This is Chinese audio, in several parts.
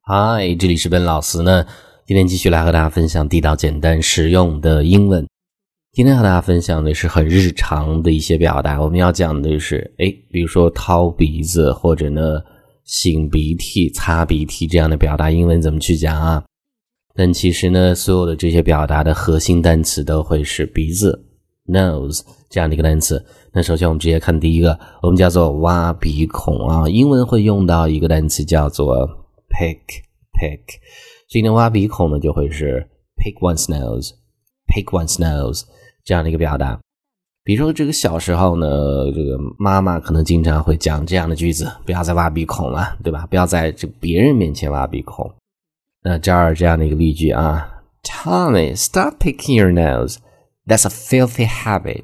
嗨，这里是本老师呢，今天继续来和大家分享地道简单实用的英文。今天和大家分享的是很日常的一些表达，我们要讲的是比如说掏鼻子或者呢擤鼻涕、擦鼻涕这样的表达，英文怎么去讲啊？但其实呢，所有的这些表达的核心单词都会是鼻子 nose 这样的一个单词。那首先我们直接看第一个，我们叫做挖鼻孔啊，英文会用到一个单词叫做 pick， 所以呢挖鼻孔呢就会是 pick one's nose 这样的一个表达。比如说这个小时候呢，这个妈妈可能经常会讲这样的句子，不要再挖鼻孔了，对吧？不要在这别人面前挖鼻孔。那这儿这样的一个例句啊 Tommy, stop picking your nose. That's a filthy habit.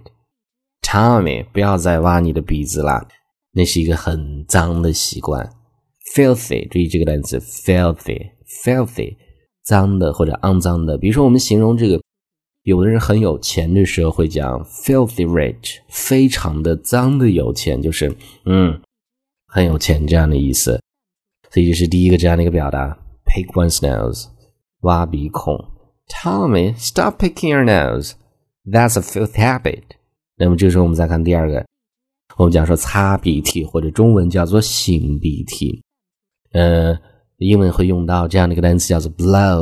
Tommy, 不要再挖你的鼻子啦，那是一个很脏的习惯。Filthy, 注意这个单词 filthy 脏的或者肮脏的。比如说我们形容这个有的人很有钱的时候会讲 filthy rich， 非常的脏的有钱，就是很有钱这样的意思。所以这是第一个这样的一个表达 pick one's nose 挖鼻孔。 Tommy, stop picking your nose. That's a filthy habit. 那么这个时候我们再看第二个，我们讲说擦鼻涕或者中文叫做擤鼻涕，英文会用到这样的一个单词叫做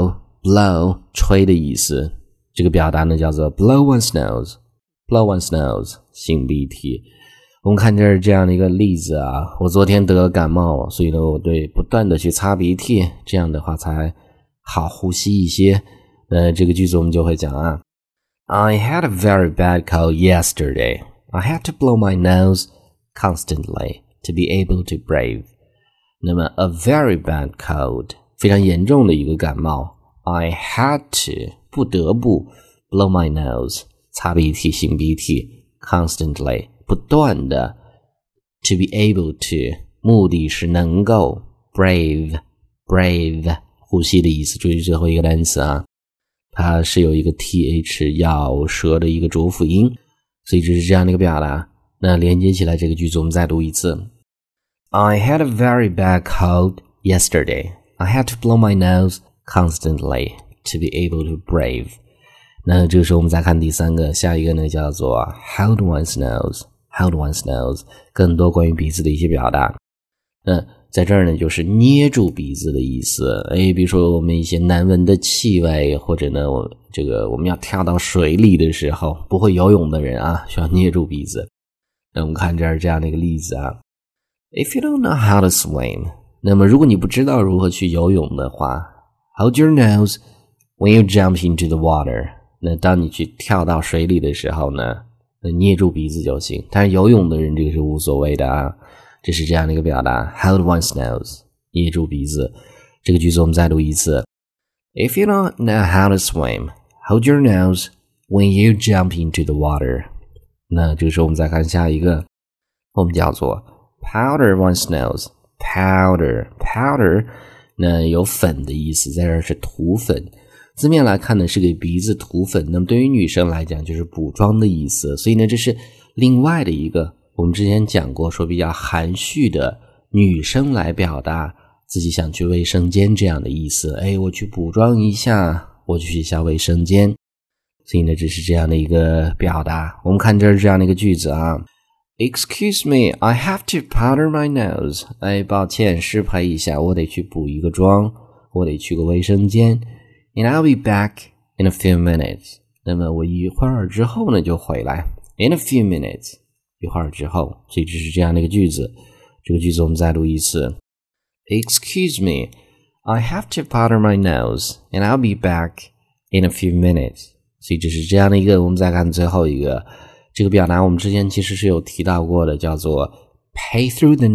blow 吹的意思，这个表达呢叫做 blow one's nose 擤鼻涕。我们看这是这样的一个例子啊，我昨天得了感冒，所以呢我对不断的去擦鼻涕，这样的话才好呼吸一些。这个句子我们就会讲啊I had a very bad cold yesterday. I had to blow my nose constantly to be able to breathe. 那么 a very bad cold 非常严重的一个感冒。I had to 不得不 blow my nose 擦鼻涕擤鼻涕 constantly 不断的 to be able to 目的是能够 brave 呼吸的意思。注意最后一个单词啊，它是有一个 th 咬舌的一个浊辅音，所以这是这样的一个表达。那连接起来这个句子我们再读一次。I had a very bad cold yesterday. I had to blow my nose constantly to be able to breathe. 那这个时候我们再看第三个，下一个呢叫做 hold one's nose 更多关于鼻子的一些表达。在这儿呢就是捏住鼻子的意思。比如说我们一些难闻的气味，或者呢我们要跳到水里的时候，不会游泳的人啊需要捏住鼻子。那我们看这儿这样的一个例子啊 If you don't know how to swim， 那么如果你不知道如何去游泳的话 Hold your nose when you jump into the water， 那当你去跳到水里的时候呢，捏住鼻子就行。但是游泳的人这个是无所谓的啊。这是这样的一个表达 Hold one's nose 捏住鼻子。这个句子我们再读一次 If you don't know how to swim Hold your nose when you jump into the water。 那这个时候我们再看下一个，我们叫做 powder one's nose powder 那有粉的意思，在这儿是涂粉，字面来看呢是给鼻子涂粉，那么对于女生来讲就是补妆的意思。所以呢这是另外的一个我们之前讲过说比较含蓄的女生来表达自己想去卫生间这样的意思。我去补妆一下，我去一下卫生间。所以呢这是这样的一个表达。我们看这是这样的一个句子啊 Excuse me, I have to powder my nose。 抱歉失陪一下，我得去补一个妆，我得去个卫生间。 And I'll be back in a few minutes。 那么我一会儿之后呢就回来 In a few minutes，一会儿之后。所以这是这样的一个句子。这个句子我们再读一次 Excuse me, I have to powder my nose and I'll be back in a few minutes。 所以这是这样的一个。我们再看最后一个，这个表达我们之前其实是有提到过的，叫做 pay through the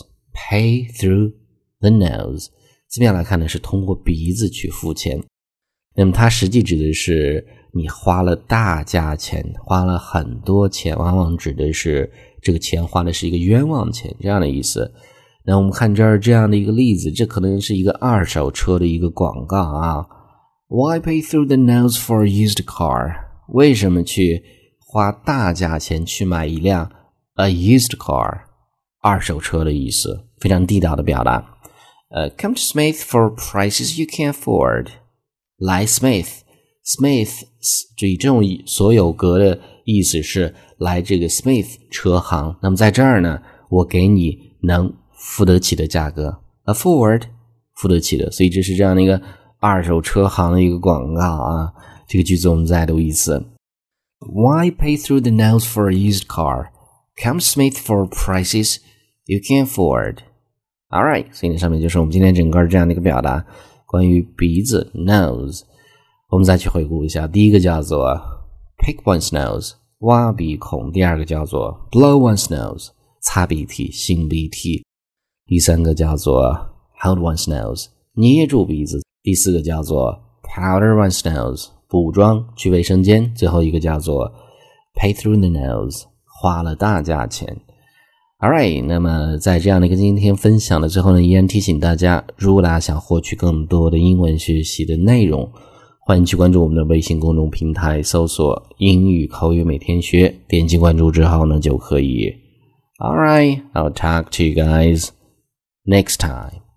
nose。 字面来看呢是通过鼻子去付钱，那么它实际指的是你花了大价钱，花了很多钱，往往指的是这个钱花的是一个冤枉钱这样的意思。那我们看这儿这样的一个例子，这可能是一个二手车的一个广告啊。Why pay through the nose for a used car？ 为什么去花大价钱去买一辆 a used car 二手车的意思，非常地道的表达。 Come to Smith for prices you can afford. 来 Smith 注意这种所有格的意思是来这个 Smith 车行。那么在这儿呢，我给你能付得起的价格 afford 付得起的，所以这是这样的一个二手车行的一个广告啊。这个句子我们再读一次。Why pay through the nose for a used car? Come Smith for prices you can afford. Alright, 所以上面就是我们今天整个这样的一个表达，关于鼻子 nose。我们再去回顾一下，第一个叫做 pick one's nose 挖鼻孔，第二个叫做 blow one's nose 擦鼻涕擤鼻涕，第三个叫做 hold one's nose 捏住鼻子，第四个叫做 powder one's nose 补妆去卫生间，最后一个叫做 pay through the nose 花了大价钱。Alright, 那么在这样的一个今天分享的最后呢，依然提醒大家，如果大家想获取更多的英文学习的内容，欢迎去关注我们的微信公众平台，搜索英语口语每天学，点击关注之后呢就可以。Alright, I'll talk to you guys next time.